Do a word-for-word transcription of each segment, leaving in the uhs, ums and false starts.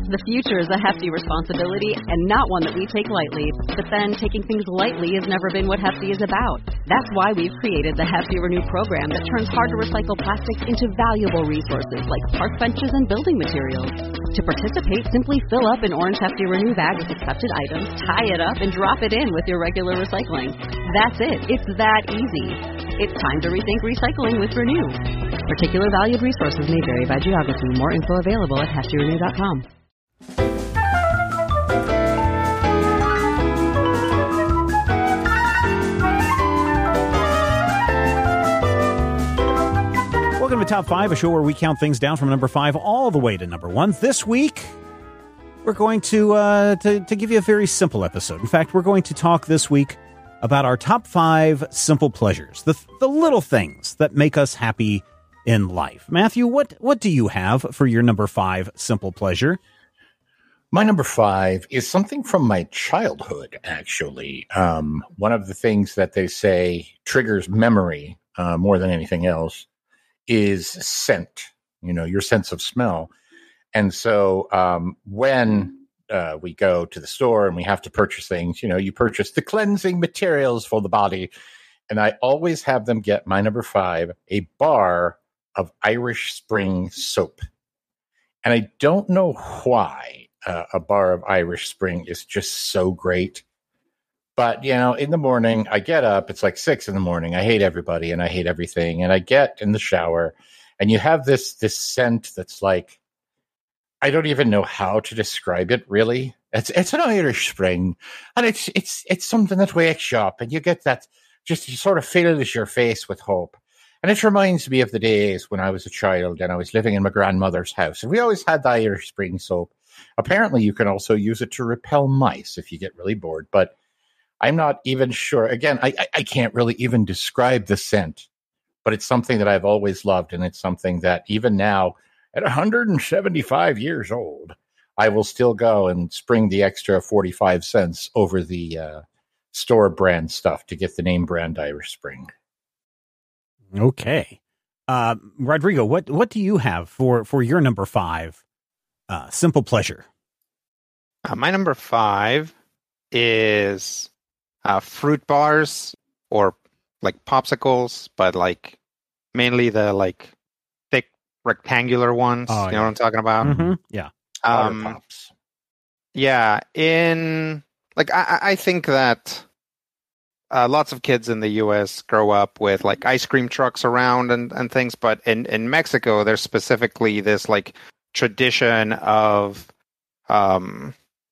The future is a hefty responsibility and not one that we take lightly. But then taking things lightly has never been what Hefty is about. That's why we've created the Hefty Renew program that turns hard-to-recycle plastics into valuable resources like park benches and building materials. To participate, simply fill up an orange Hefty Renew bag with accepted items, tie it up, and drop it in with your regular recycling. That's it. It's that easy. It's time to rethink recycling with Renew. Particular valued resources may vary by geography. More info available at hefty renew dot com. Welcome to Top five, a show where we count things down from number five all the way to number one. This week, we're going to, uh, to, to give you a very simple episode. In fact, we're going to talk this week about our top five simple pleasures, the, the little things that make us happy in life. Matthew, what, what do you have for your number five simple pleasure? My number five is something from my childhood, actually. Um, one of the things that they say triggers memory uh, more than anything else is scent, you know, your sense of smell. And so um, when uh, we go to the store and we have to purchase things, you know, you purchase the cleansing materials for the body. And I always have them get my number five, a bar of Irish Spring soap. And I don't know why uh, a bar of Irish Spring is just so great. But, you know, in the morning, I get up, it's like six in the morning. I hate everybody and I hate everything. And I get in the shower and you have this this scent that's like, I don't even know how to describe it, really. It's it's an Irish Spring. And it's it's it's something that wakes you up and you get that, just you sort of fills your face with hope. And it reminds me of the days when I was a child and I was living in my grandmother's house. And we always had the Irish Spring soap. Apparently, you can also use it to repel mice if you get really bored. But I'm not even sure. Again, I, I can't really even describe the scent. But it's something that I've always loved. And it's something that even now, at one hundred seventy-five years old, I will still go and spring the extra forty-five cents over the uh, store brand stuff to get the name brand Irish Spring. Okay. Uh, Rodrigo, what, what do you have for, for your number five uh, simple pleasure? Uh, my number five is uh, fruit bars or like popsicles, but like mainly the like thick rectangular ones. Oh, you yeah. know what I'm talking about? Mm-hmm. Yeah. Um, pops. Yeah. In like, I, I think that Uh, lots of kids in the U S grow up with like ice cream trucks around and, and things, but in, in Mexico, there's specifically this like tradition of um,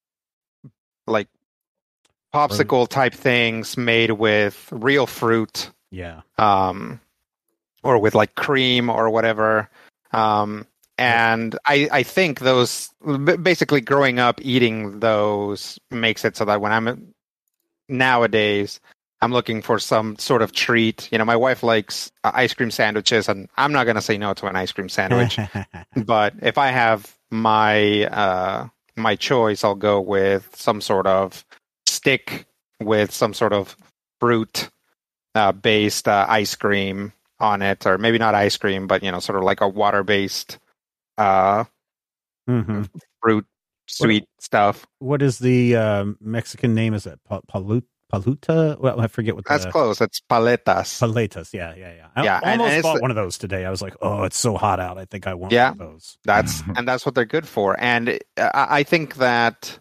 like popsicle type things made with real fruit. Yeah. Um, or with like cream or whatever. Um, and I, I think those basically growing up eating those makes it so that when I'm nowadays, I'm looking for some sort of treat. You know, my wife likes uh, ice cream sandwiches, and I'm not going to say no to an ice cream sandwich. But if I have my uh, my choice, I'll go with some sort of stick with some sort of fruit uh, based uh, ice cream on it, or maybe not ice cream, but you know, sort of like a water based uh, mm-hmm. fruit sweet what, stuff. What is the uh, Mexican name? Is it pa- palut? Paluta? Well, I forget what that's the, close. It's paletas. Paletas, yeah, yeah, yeah. I yeah, almost and, and bought one of those today. I was like, oh, it's so hot out. I think I want yeah, one of those. That's and that's what they're good for. And I, I think that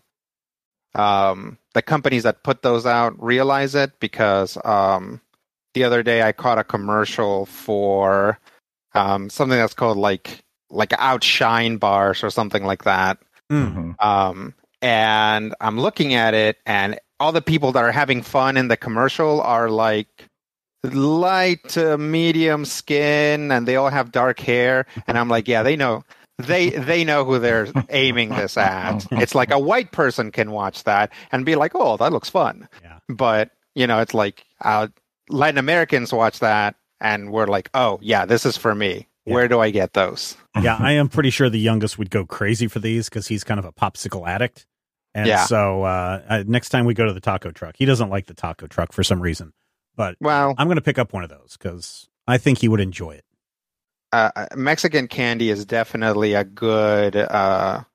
um, the companies that put those out realize it because um, the other day I caught a commercial for um, something that's called like like Outshine bars or something like that. Mm-hmm. Um, and I'm looking at it, and all the people that are having fun in the commercial are like light to medium skin, and they all have dark hair. And I'm like, yeah, they know, they they know who they're aiming this at. It's like a white person can watch that and be like, oh, that looks fun. Yeah. But you know, it's like uh, Latin Americans watch that, and we're like, oh, yeah, this is for me. Yeah. Where do I get those? Yeah, I am pretty sure the youngest would go crazy for these because he's kind of a popsicle addict. And yeah. so uh, uh, next time we go to the taco truck, he doesn't like the taco truck for some reason. But well, I'm going to pick up one of those because I think he would enjoy it. Uh, Mexican candy is definitely a good uh,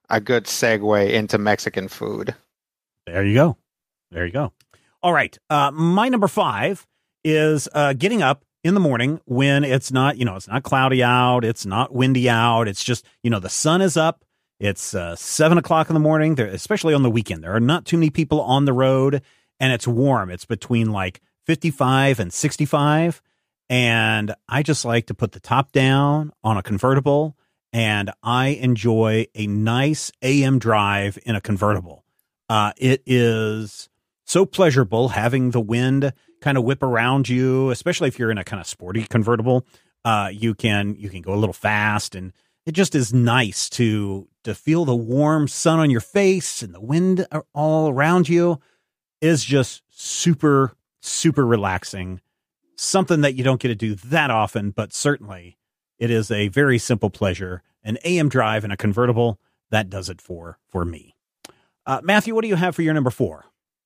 a good segue into Mexican food. There you go. There you go. All right. Uh, my number five is uh, getting up in the morning when it's not, you know, it's not cloudy out. It's not windy out. It's just, you know, the sun is up. It's uh, seven o'clock in the morning, there, especially on the weekend. There are not too many people on the road, and it's warm. It's between like fifty-five and sixty-five. And I just like to put the top down on a convertible, and I enjoy a nice A M drive in a convertible. Uh, it is so pleasurable having the wind kind of whip around you, especially if you're in a kind of sporty convertible. Uh, you can you can go a little fast, and it just is nice to to feel the warm sun on your face and the wind all around you. Is just super, super relaxing. Something that you don't get to do that often, but certainly it is a very simple pleasure. An A M drive in a convertible, that does it for, for me. Uh, Matthew, what do you have for your number four?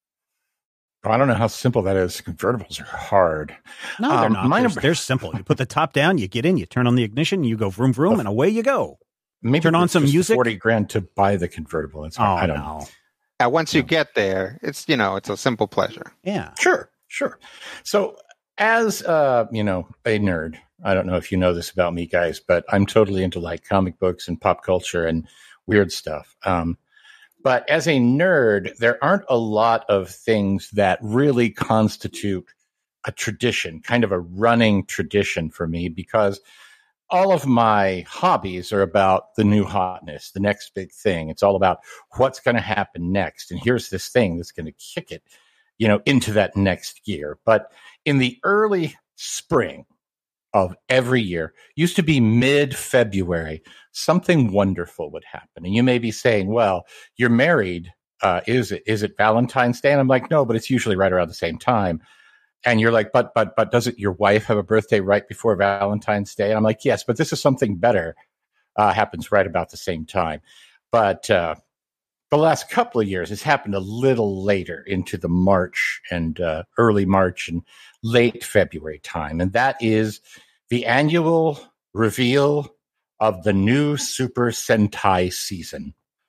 I don't know how simple that is. Convertibles are hard. No, they're um, not. They're, number... they're simple. You put the top down, you get in, you turn on the ignition, you go vroom, vroom, and away you go. Maybe turn on some music. forty grand to buy the convertible. It's hard. Oh, I don't no. know. Uh, once you yeah. get there, it's, you know, it's a simple pleasure. Yeah. Sure. Sure. So as, uh, you know, a nerd, I don't know if you know this about me, guys, but I'm totally into like comic books and pop culture and weird stuff. Um, but as a nerd, there aren't a lot of things that really constitute a tradition, kind of a running tradition for me, because all of my hobbies are about the new hotness, the next big thing. It's all about what's going to happen next. And here's this thing that's going to kick it, you know, into that next year. But in the early spring of every year, used to be mid-February, something wonderful would happen. And you may be saying, well, you're married. Uh, is it, is it Valentine's Day? And I'm like, no, but it's usually right around the same time. And you're like, but, but, but doesn't your wife have a birthday right before Valentine's Day? And I'm like, yes, but this is something better, uh, happens right about the same time. But, uh, the last couple of years, it's happened a little later into the March and, uh, early March and late February time. And that is the annual reveal of the new Super Sentai season.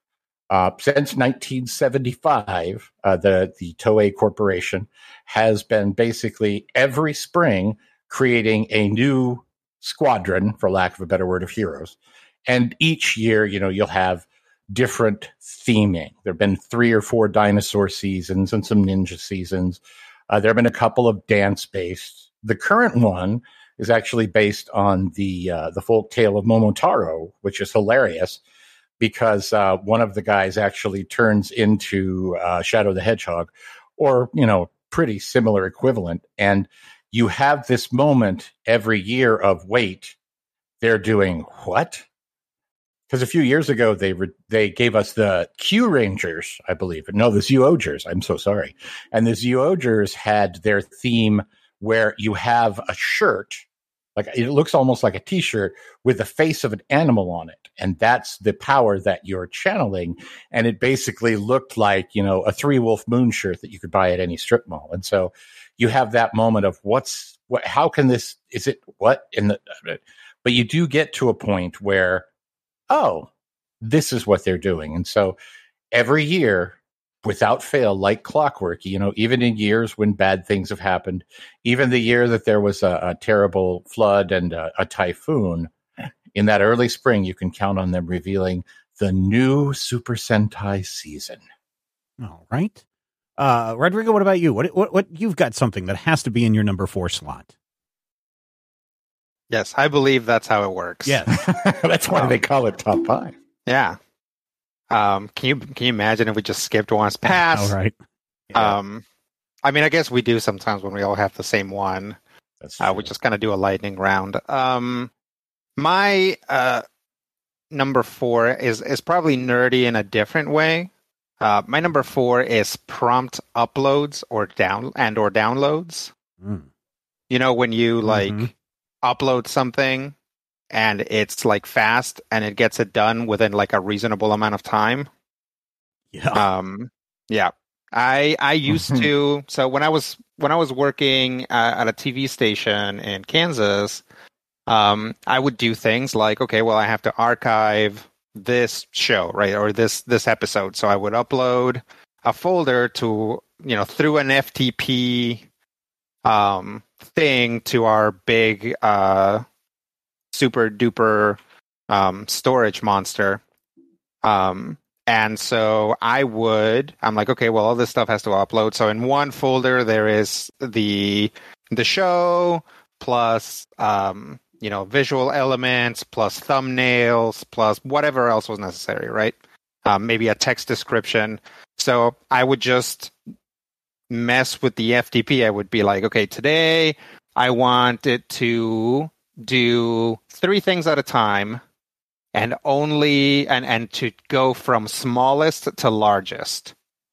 Uh, since nineteen seventy-five, uh, the, the Toei Corporation has been basically every spring creating a new squadron, for lack of a better word, of heroes. And each year, you know, you'll have different theming. There have been three or four dinosaur seasons and some ninja seasons. Uh, there have been a couple of dance-based. The current one is actually based on the uh, the folk tale of Momotaro, which is hilarious, because uh, one of the guys actually turns into uh, Shadow the Hedgehog, or, you know, pretty similar equivalent. And you have this moment every year of, wait, they're doing what? Because a few years ago, they re- they gave us the Q Rangers, I believe. No, the Zyogers. I'm so sorry. And the Zyogers had their theme where you have a shirt, like it looks almost like a T-shirt with the face of an animal on it. And that's the power that you're channeling. And it basically looked like, you know, a Three Wolf Moon shirt that you could buy at any strip mall. And so you have that moment of what's, what, how can this, is it what in the, but you do get to a point where, oh, this is what they're doing. And so every year, without fail, like clockwork, you know, even in years when bad things have happened, even the year that there was a, a terrible flood and a, a typhoon, in that early spring, you can count on them revealing the new Super Sentai season. All right. Uh, Rodrigo, what about you? What, what, what, you've got something that has to be in your number four slot. Yes, I believe that's how it works. Yeah. That's why um, they call it top five. Yeah. Um, can you can you imagine if we just skipped one's past? All right. Yeah. Um, I mean, I guess we do sometimes when we all have the same one. That's true. Uh, we just kind of do a lightning round. Um, my uh, number four is is probably nerdy in a different way. Uh, my number four is prompt uploads or down and or downloads. Mm. You know, when you like mm-hmm. upload something and it's like fast and it gets it done within like a reasonable amount of time. Yeah. Um, yeah. I I used to, so when I was when I was working uh, at a T V station in Kansas, um, I would do things like, okay, well, I have to archive this show, right, or this this episode. So I would upload a folder to, you know, through an F T P um, thing to our big uh, super duper um, storage monster. Um, and so I would, I'm like, okay, well, all this stuff has to upload. So in one folder, there is the the show plus, um, you know, visual elements plus thumbnails plus whatever else was necessary, right? Um, maybe a text description. So I would just mess with the F T P. I would be like, okay, today I want it to do three things at a time and only, and, and to go from smallest to largest.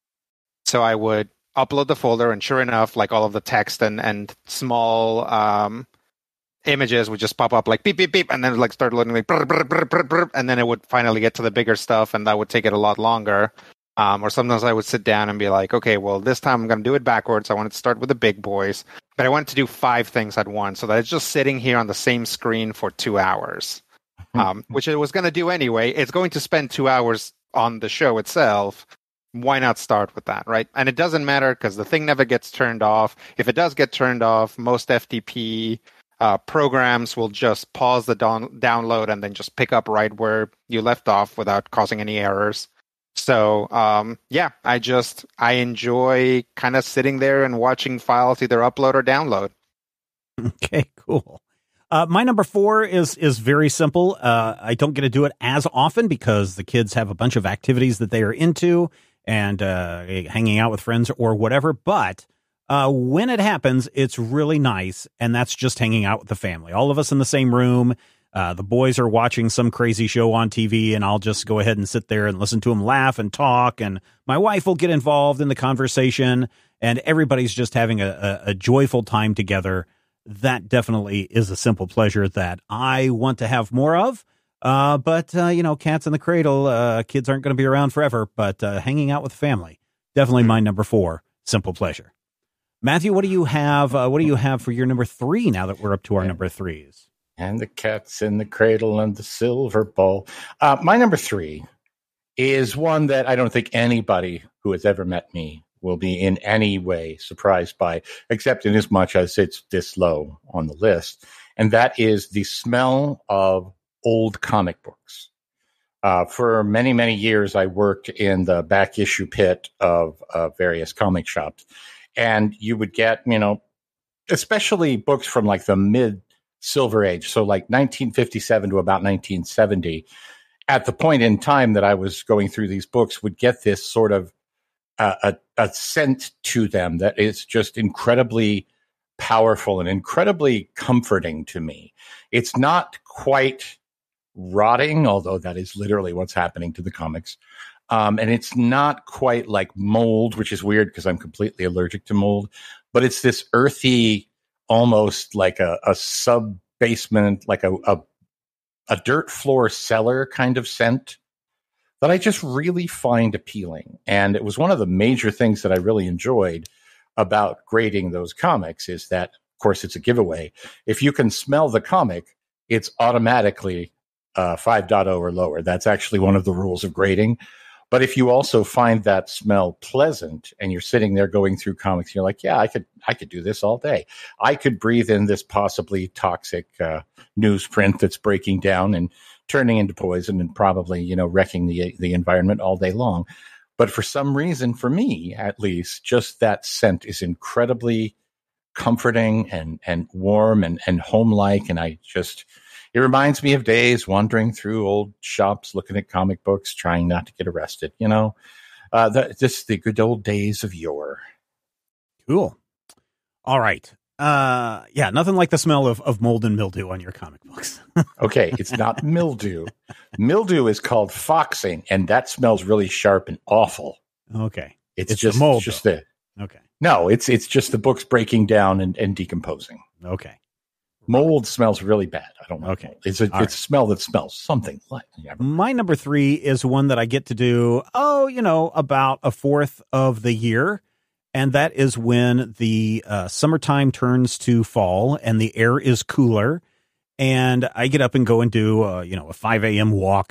So I would upload the folder, and sure enough, like all of the text and, and small um, images would just pop up like beep, beep, beep, and then like start loading like brr, brr, brr, brr, brr, and then it would finally get to the bigger stuff, and that would take it a lot longer. Um, or sometimes I would sit down and be like, okay, well, this time I'm going to do it backwards. I wanted to start with the big boys, but I wanted to do five things at once so that it's just sitting here on the same screen for two hours, um, which it was going to do anyway. It's going to spend two hours on the show itself. Why not start with that, right? And it doesn't matter because the thing never gets turned off. If it does get turned off, most F T P uh, programs will just pause the don- download and then just pick up right where you left off without causing any errors. So, um, yeah, I just, I enjoy kind of sitting there and watching files either upload or download. Okay, cool. Uh, my number four is is very simple. Uh, I don't get to do it as often because the kids have a bunch of activities that they are into and uh, hanging out with friends or whatever. But uh, when it happens, it's really nice. And that's just hanging out with the family. All of us in the same room. Uh, the boys are watching some crazy show on T V, and I'll just go ahead and sit there and listen to them laugh and talk. And my wife will get involved in the conversation, and everybody's just having a, a, a joyful time together. That definitely is a simple pleasure that I want to have more of. Uh, but, uh, you know, cats in the cradle, uh, kids aren't going to be around forever, but uh, hanging out with family, definitely my number four, simple pleasure. Matthew, what do you have? Uh, what do you have for your number three now that we're up to our number threes? And the cat's in the cradle and the silver ball. Uh, my number three is one that I don't think anybody who has ever met me will be in any way surprised by, except in as much as it's this low on the list. And that is the smell of old comic books. Uh, for many, many years, I worked in the back issue pit of uh, various comic shops. And you would get, you know, especially books from like the mid Silver Age, so like nineteen fifty-seven to about nineteen seventy, at the point in time that I was going through these books, would get this sort of uh, a, a scent to them that is just incredibly powerful and incredibly comforting to me. It's not quite rotting, although that is literally what's happening to the comics. Um, and it's not quite like mold, which is weird because I'm completely allergic to mold, but it's this earthy, almost like a, a sub basement, like a, a a dirt floor cellar kind of scent that I just really find appealing. And it was one of the major things that I really enjoyed about grading those comics is that, of course, it's a giveaway. If you can smell the comic, it's automatically uh, five point oh or lower. That's actually one of the rules of grading. But if you also find that smell pleasant and you're sitting there going through comics, and you're like, yeah, I could, I could do this all day. I could breathe in this possibly toxic uh, newsprint that's breaking down and turning into poison and probably, you know, wrecking the the environment all day long. But for some reason, for me at least, just that scent is incredibly comforting and and warm and and home-like. And I just, it reminds me of days wandering through old shops, looking at comic books, trying not to get arrested. You know, uh, the, just the good old days of yore. Cool. All right. Uh, yeah, nothing like the smell of, of mold and mildew on your comic books. Okay, it's not mildew. Mildew is called foxing, and that smells really sharp and awful. Okay. It's, it's just the mold. It's just the okay. No, it's it's just the books breaking down and, and decomposing. Okay. Mold smells really bad. I don't know. Okay. It's a, it's right. a smell that smells something like. My number three is one that I get to do, oh, you know, about a fourth of the year. And that is when the uh, summertime turns to fall and the air is cooler. And I get up and go and do, uh, you know, a five a.m. walk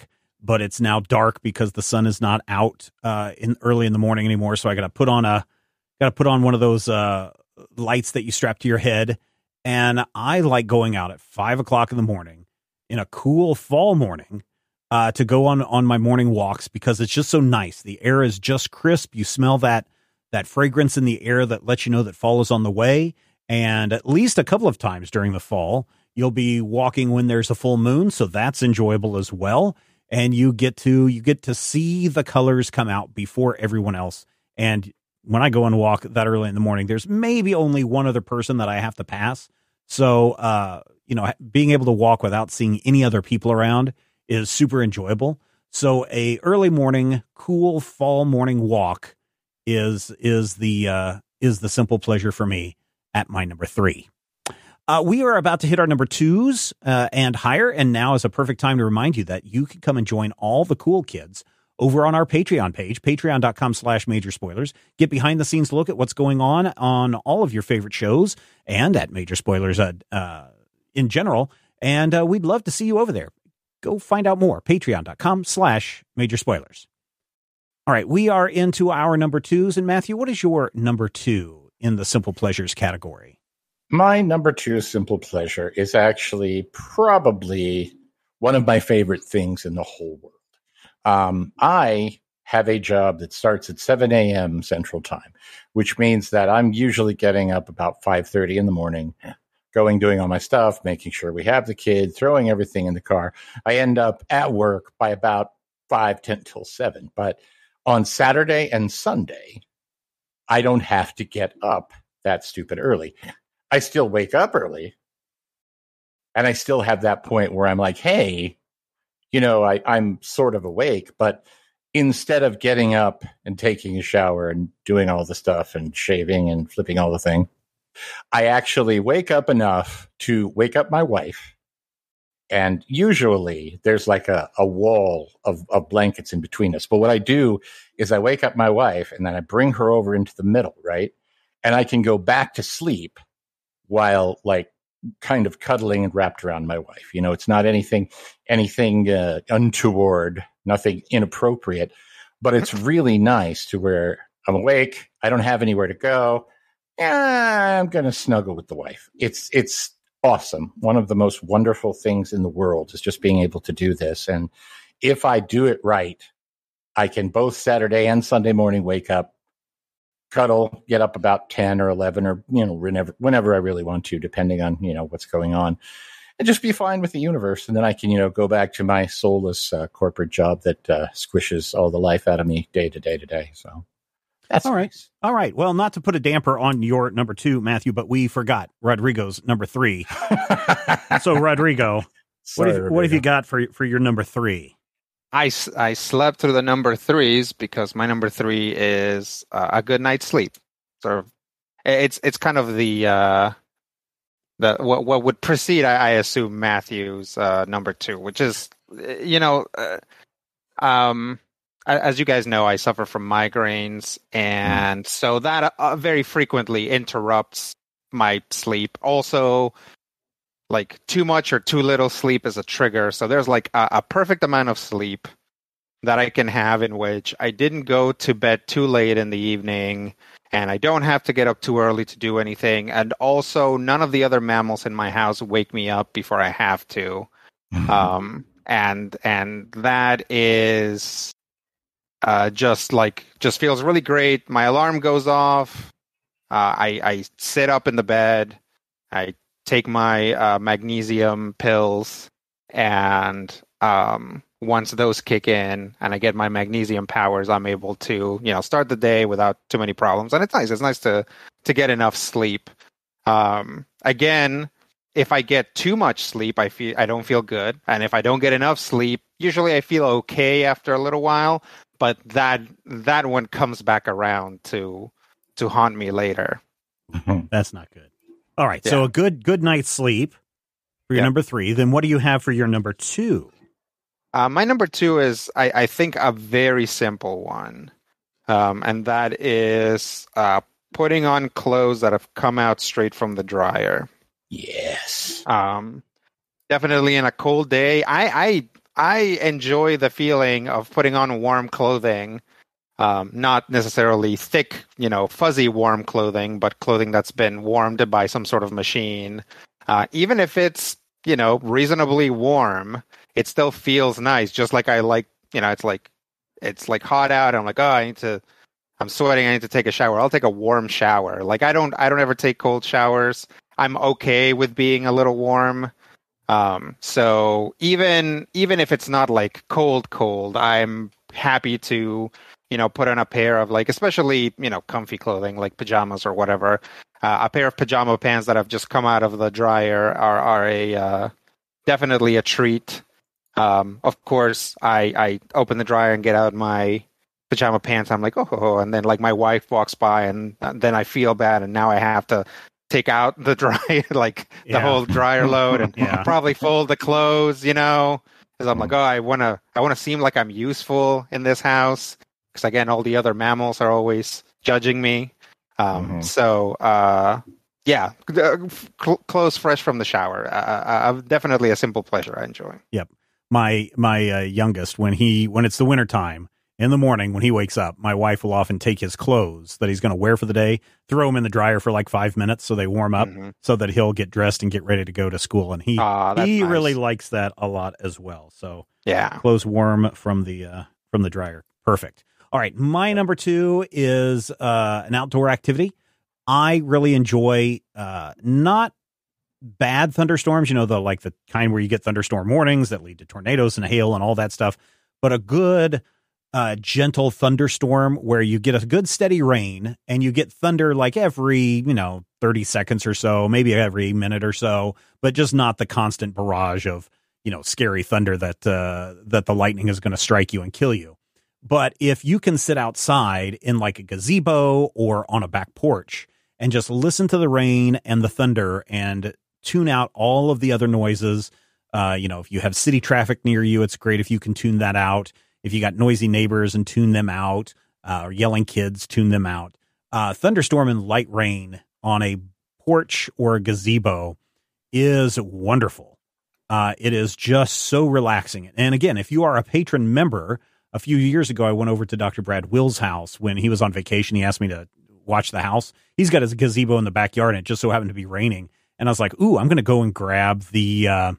but it's now dark because the sun is not out uh, in early in the morning anymore. So I got to put on a got to put on one of those uh, lights that you strap to your head, and I like going out at five o'clock in the morning in a cool fall morning uh, to go on on my morning walks because it's just so nice. The air is just crisp. You smell that that fragrance in the air that lets you know that fall is on the way. And at least a couple of times during the fall, you'll be walking when there's a full moon, so that's enjoyable as well. And you get to you get to see the colors come out before everyone else. And when I go and walk that early in the morning, there's maybe only one other person that I have to pass. So, uh, you know, being able to walk without seeing any other people around is super enjoyable. So a early morning, cool fall morning walk is is the uh, is the simple pleasure for me at my number three. Uh, we are about to hit our number twos uh, and higher, and now is a perfect time to remind you that you can come and join all the cool kids over on our Patreon page, patreon.com slash major spoilers. Get behind the scenes look at what's going on on all of your favorite shows and at Major Spoilers uh, uh, in general. And uh, we'd love to see you over there. Go find out more. Patreon.com slash major spoilers. All right, we are into our number twos. And Matthew, what is your number two in the simple pleasures category? My number two simple pleasure is actually probably one of my favorite things in the whole world. Um, I have a job that starts at seven a.m. Central Time, which means that I'm usually getting up about five thirty in the morning, going, doing all my stuff, making sure we have the kid, throwing everything in the car. I end up at work by about five, ten till seven. But on Saturday and Sunday, I don't have to get up that stupid early. I still wake up early, and I still have that point where I'm like, hey, you know, I, I'm sort of awake, but instead of getting up and taking a shower and doing all the stuff and shaving and flipping all the thing, I actually wake up enough to wake up my wife. And usually there's like a, a wall of, of blankets in between us. But what I do is I wake up my wife and then I bring her over into the middle, right? And I can go back to sleep while like kind of cuddling and wrapped around my wife. You know, it's not anything, anything uh, untoward, nothing inappropriate, but it's really nice to where I'm awake. I don't have anywhere to go. Yeah, I'm going to snuggle with the wife. It's, it's awesome. One of the most wonderful things in the world is just being able to do this. And if I do it right, I can both Saturday and Sunday morning wake up, cuddle, get up about ten or eleven or, you know, whenever, whenever I really want to, depending on, you know, what's going on, and just be fine with the universe. And then I can, you know, go back to my soulless uh, corporate job that uh, squishes all the life out of me day to day to day. So that's all right. Nice. All right. Well, not to put a damper on your number two, Matthew, but we forgot Rodrigo's number three. So, Rodrigo, Sorry, what, have, Rodrigo. what have you got for, for your number three? I, s- I slept through the number threes because my number three is uh, a good night's sleep. Sort of, it's it's kind of the uh, the what what would precede, I, I assume, Matthew's uh, number two, which is, you know, uh, um, as you guys know, I suffer from migraines, and mm. so that uh, very frequently interrupts my sleep. Also, like too much or too little sleep is a trigger. So there's like a, a perfect amount of sleep that I can have in which I didn't go to bed too late in the evening and I don't have to get up too early to do anything. And also none of the other mammals in my house wake me up before I have to. Mm-hmm. Um, and, and that is uh, just like, just feels really great. My alarm goes off. Uh, I, I sit up in the bed. I take my uh, magnesium pills, and um, once those kick in and I get my magnesium powers, I'm able to, you know, start the day without too many problems. And it's nice. It's nice to to get enough sleep. Um, again, if I get too much sleep, I feel I don't feel good, and if I don't get enough sleep, usually I feel okay after a little while. But that that one comes back around to to haunt me later. That's not good. All right, yeah. So a good good night's sleep for your yeah. number three. Then what do you have for your number two? Uh, my number two is, I, I think, a very simple one, um, and that is uh, putting on clothes that have come out straight from the dryer. Yes. Um, definitely in a cold day. I, I I enjoy the feeling of putting on warm clothing, um, not necessarily thick, you know, fuzzy warm clothing, but clothing that's been warmed by some sort of machine. Uh, even if it's, you know, reasonably warm, it still feels nice. Just like I like, you know, it's like it's like hot out. And I'm like, oh, I need to. I'm sweating. I need to take a shower. I'll take a warm shower. Like I don't. I don't ever take cold showers. I'm okay with being a little warm. Um, so even even if it's not like cold, cold, I'm happy to, you know, put on a pair of like, especially, you know, comfy clothing like pajamas or whatever. Uh, a pair of pajama pants that have just come out of the dryer are are a uh, definitely a treat. Um, of course, I I open the dryer and get out my pajama pants. I'm like, oh, oh, oh, and then like my wife walks by and, and then I feel bad, and now I have to take out the dry, like the yeah. whole dryer load, and yeah. probably fold the clothes, you know, because I'm like, oh, I want to, I want to seem like I'm useful in this house. Because again, all the other mammals are always judging me. Um, mm-hmm. So, uh, yeah, cl- clothes fresh from the shower. Uh, uh, definitely a simple pleasure I enjoy. Yep. My, my uh, youngest, when he, when it's the winter time, in the morning when he wakes up, my wife will often take his clothes that he's going to wear for the day, throw them in the dryer for like five minutes so they warm up, mm-hmm. so that he'll get dressed and get ready to go to school. And he uh, he nice. really likes that a lot as well. So yeah, clothes warm from the uh, from the dryer. Perfect. All right, my number two is uh, an outdoor activity. I really enjoy uh, not bad thunderstorms, you know, the like the kind where you get thunderstorm warnings that lead to tornadoes and hail and all that stuff, but a good Uh, gentle thunderstorm where you get a good steady rain and you get thunder like every, you know, thirty seconds or so, maybe every minute or so, but just not the constant barrage of, you know, scary thunder that, uh, that the lightning is going to strike you and kill you. But if you can sit outside in like a gazebo or on a back porch and just listen to the rain and the thunder and tune out all of the other noises, uh, you know, if you have city traffic near you, it's great if you can tune that out. If you got noisy neighbors and tune them out, uh, or yelling kids, tune them out. Uh, thunderstorm and light rain on a porch or a gazebo is wonderful. Uh, it is just so relaxing. And again, if you are a patron member, a few years ago, I went over to Doctor Brad Will's house when he was on vacation. He asked me to watch the house. He's got his gazebo in the backyard, and it just so happened to be raining. And I was like, ooh, I'm going to go and grab the... Uh,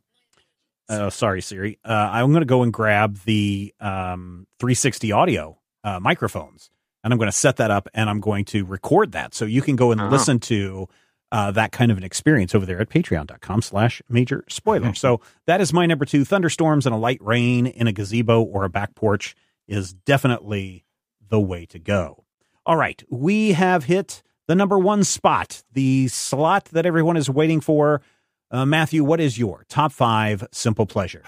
Oh, sorry, Siri. Uh, I'm going to go and grab the um, three sixty audio uh, microphones, and I'm going to set that up, and I'm going to record that. So you can go and uh-huh. listen to uh, that kind of an experience over there at patreon.com slash major spoiler. So that is my number two. Thunderstorms and a light rain in a gazebo or a back porch is definitely the way to go. All right. We have hit the number one spot, the slot that everyone is waiting for. Uh, Matthew, what is your top five simple pleasure?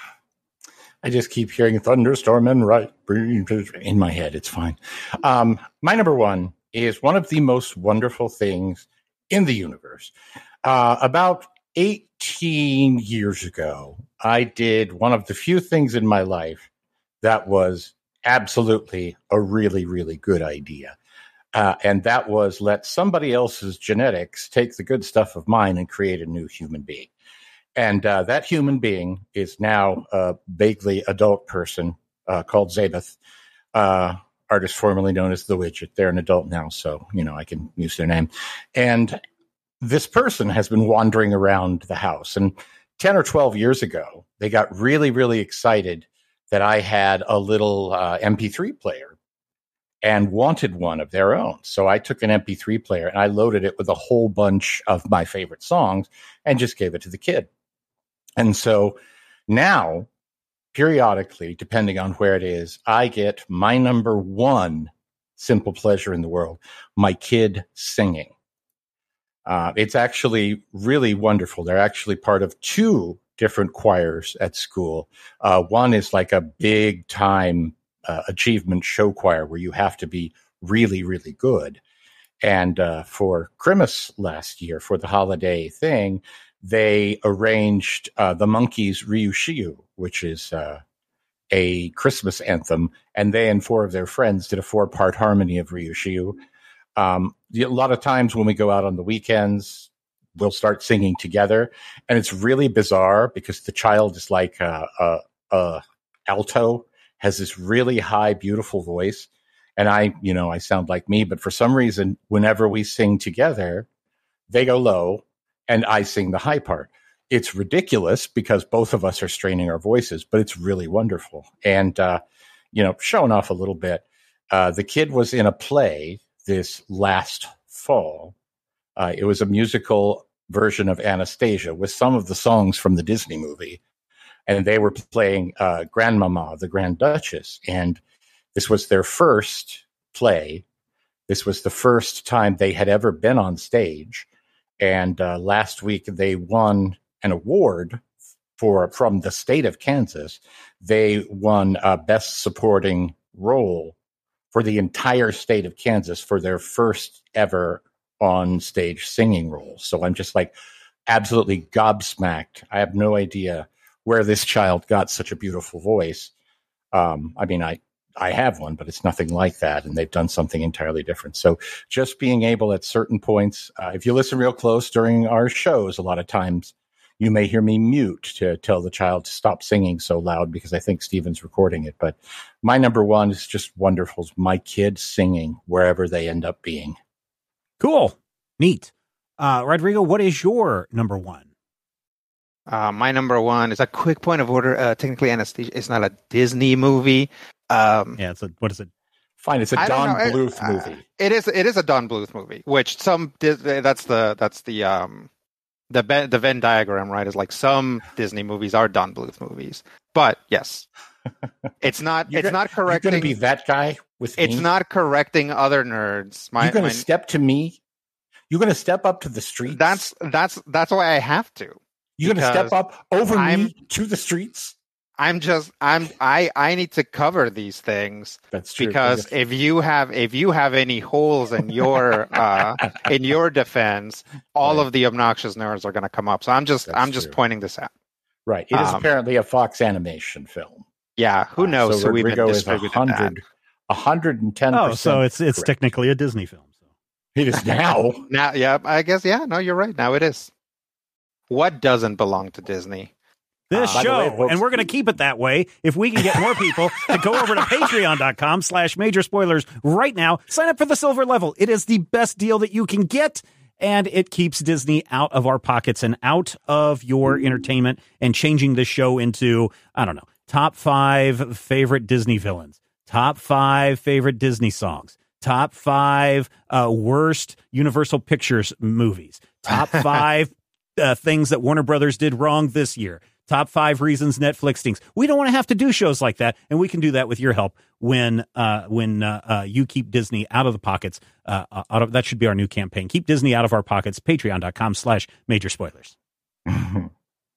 I just keep hearing thunderstorm and right in my head. It's fine. Um, my number one is one of the most wonderful things in the universe. Uh, about eighteen years ago, I did one of the few things in my life that was absolutely a really, really good idea. Uh, and that was let somebody else's genetics take the good stuff of mine and create a new human being. And uh, that human being is now a vaguely adult person uh, called Zabeth, uh, artist formerly known as The Widget. They're an adult now, so, you know, I can use their name. And this person has been wandering around the house. And ten or twelve years ago, they got really, really excited that I had a little uh, M P three player and wanted one of their own. So I took an M P three player and I loaded it with a whole bunch of my favorite songs and just gave it to the kid. And so now, periodically, depending on where it is, I get my number one simple pleasure in the world, my kid singing. Uh, it's actually really wonderful. They're actually part of two different choirs at school. Uh, one is like a big time uh, achievement show choir where you have to be really, really good. And uh, for Christmas last year, for the holiday thing, they arranged uh, the Monkees' Ryushiyu, which is uh, a Christmas anthem, and they and four of their friends did a four-part harmony of Ryushiyu. Um, a lot of times when we go out on the weekends, we'll start singing together, and it's really bizarre because the child is like a, a, a alto, has this really high, beautiful voice. And I, you know, I sound like me, but for some reason, whenever we sing together, they go low and I sing the high part. It's ridiculous because both of us are straining our voices, but it's really wonderful. And, uh, you know, showing off a little bit, uh, the kid was in a play this last fall. Uh, it was a musical version of Anastasia with some of the songs from the Disney movie. And they were playing uh, Grandmama, the Grand Duchess. And this was their first play. This was the first time they had ever been on stage. And uh, last week they won an award for from the state of Kansas. They won uh, Best Supporting Role for the entire state of Kansas for their first ever on stage singing role. So I'm just like absolutely gobsmacked. I have no idea where this child got such a beautiful voice. Um, I mean, I, I have one, but it's nothing like that. And they've done something entirely different. So just being able at certain points, uh, if you listen real close during our shows, a lot of times you may hear me mute to tell the child to stop singing so loud because I think Steven's recording it. But my number one is just wonderful. It's my kids singing wherever they end up being. Cool. Neat. Uh, Rodrigo, what is your number one? Uh, my number one is a quick point of order. Uh, technically, Anastasia is not a Disney movie. Um, yeah, it's a, what is it? Fine, it's a I Don know, Bluth uh, movie. It is. It is a Don Bluth movie, which some that's the that's the um the Ben, the Venn diagram, right? Is like some Disney movies are Don Bluth movies, but yes, it's not. You're it's gonna, not correcting. You're going to be that guy with It's me? not correcting other nerds. My, You're going my, to step to me. You're going to step up to the streets. That's that's that's why I have to. You're going to step up over I'm, me to the streets. I'm just I'm I I need to cover these things. That's true. Because if you have if you have any holes in your uh, in your defense, all right. of the obnoxious nerds are going to come up. So I'm just That's I'm just true. pointing this out. Right. It is um, apparently a Fox Animation film. Yeah. Who knows? Uh, so who Rodrigo even is one hundred, one hundred ten percent. Oh, so it's it's correct. technically a Disney film. So. It is now. Now, yeah. I guess yeah. No, you're right. Now it is. What doesn't belong to Disney? This uh, show, way, and we're going to keep it that way if we can get more people to go over to patreon.com slash major spoilers right now. Sign up for the silver level. It is the best deal that you can get, and it keeps Disney out of our pockets and out of your entertainment and changing the show into, I don't know, top five favorite Disney villains, top five favorite Disney songs, top five uh, worst Universal Pictures movies, top five uh, things that Warner Brothers did wrong this year. Top five reasons Netflix stinks. We don't want to have to do shows like that, and we can do that with your help when uh, when uh, uh, you keep Disney out of the pockets. Uh, out of, that should be our new campaign. Keep Disney out of our pockets. Patreon.com slash major spoilers. Keep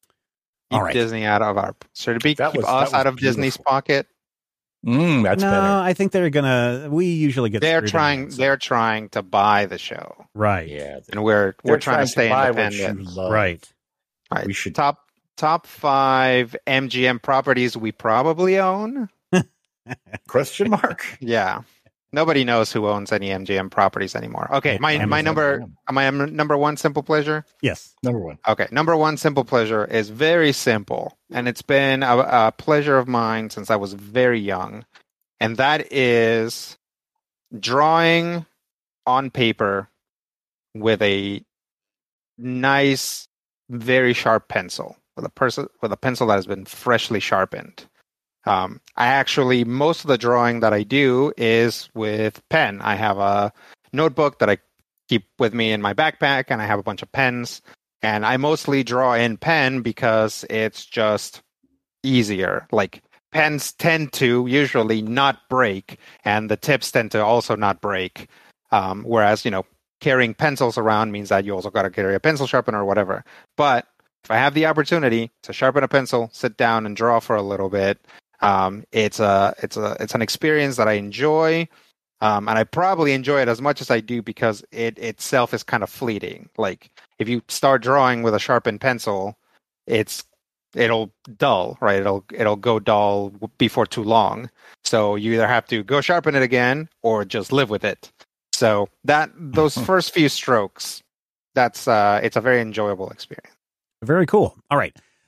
All right. Disney out of our... Should it be that keep was, us out of beautiful. Disney's pocket? Mm, that's no, better. I think they're gonna... We usually get... They're trying They're trying to buy the show. Right. Yeah. And we're we're trying, trying to stay to independent. Right. Right. We should... Top... Top five M G M properties we probably own? Question mark? Yeah. Nobody knows who owns any M G M properties anymore. Okay, my my number my number one simple pleasure? Yes. Number one. Okay, number one simple pleasure is very simple, and it's been a, a pleasure of mine since I was very young, and that is drawing on paper with a nice, very sharp pencil. With a person with a pencil that has been freshly sharpened. Um, I actually most of the drawing that I do is with pen. I have a notebook that I keep with me in my backpack, and I have a bunch of pens. And I mostly draw in pen because it's just easier. Like pens tend to usually not break, and the tips tend to also not break. Um, whereas you know carrying pencils around means that you also got to carry a pencil sharpener or whatever. But if I have the opportunity to sharpen a pencil, sit down and draw for a little bit, um, it's a it's a it's an experience that I enjoy, um, and I probably enjoy it as much as I do because it itself is kind of fleeting. Like if you start drawing with a sharpened pencil, it's it'll dull, right? It'll it'll go dull before too long. So you either have to go sharpen it again or just live with it. So that those first few strokes, that's uh, it's a very enjoyable experience. Very cool. All right.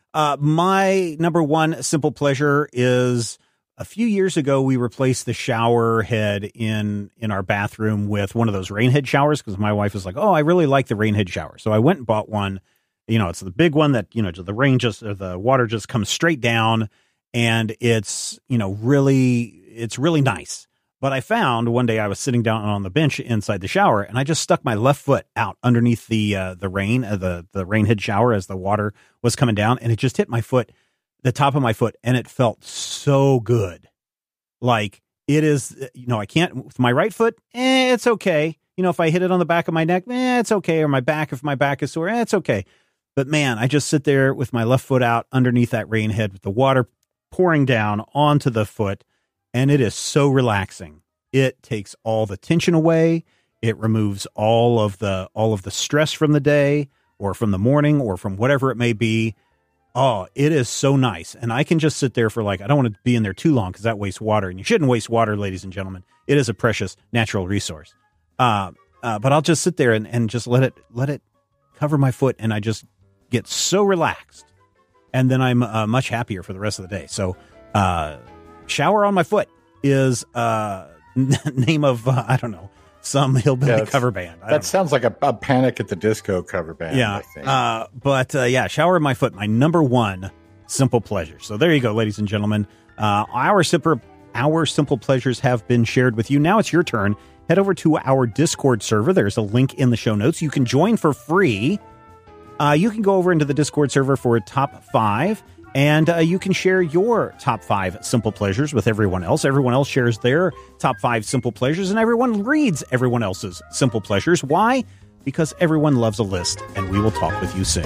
Uh, my number one simple pleasure is a few years ago, we replaced the shower head in, in our bathroom with one of those rain head showers because my wife was like, oh, I really like the rain head shower. So I went and bought one. You know, it's the big one that, you know, the rain just, or the water just comes straight down, and it's, you know, really, it's really nice. But I found one day I was sitting down on the bench inside the shower, and I just stuck my left foot out underneath the uh, the rain, uh, the the rain head shower as the water was coming down, and it just hit my foot, the top of my foot, and it felt so good. Like it is, you know, I can't with my right foot. Eh, it's okay. You know, if I hit it on the back of my neck, eh, it's okay. Or my back, if my back is sore, eh, it's okay. But man, I just sit there with my left foot out underneath that rain head with the water pouring down onto the foot. And it is so relaxing. It takes all the tension away. It removes all of the all of the stress from the day or from the morning or from whatever it may be. Oh, it is so nice. And I can just sit there for like, I don't want to be in there too long because that wastes water. And you shouldn't waste water, ladies and gentlemen. It is a precious natural resource. Uh, uh, but I'll just sit there and, and just let it let it cover my foot. And I just get so relaxed. And then I'm uh, much happier for the rest of the day. So, uh, shower on my foot is uh name of uh, I don't know, some hillbilly yeah, cover band. I that sounds like a, a Panic at the Disco cover band. Yeah, I think. Uh, but uh, yeah, shower on my foot, my number one simple pleasure. So there you go, ladies and gentlemen. Uh, our simple our simple pleasures have been shared with you. Now it's your turn. Head over to our Discord server. There's a link in the show notes. You can join for free. Uh, you can go over into the Discord server for top five. And uh, you can share your top five simple pleasures with everyone else. Everyone else shares their top five simple pleasures, and everyone reads everyone else's simple pleasures. Why? Because everyone loves a list, and we will talk with you soon.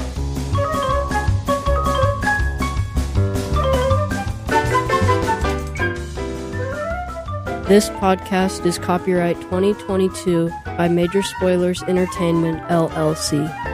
This podcast is copyright twenty twenty-two by Major Spoilers Entertainment, L L C.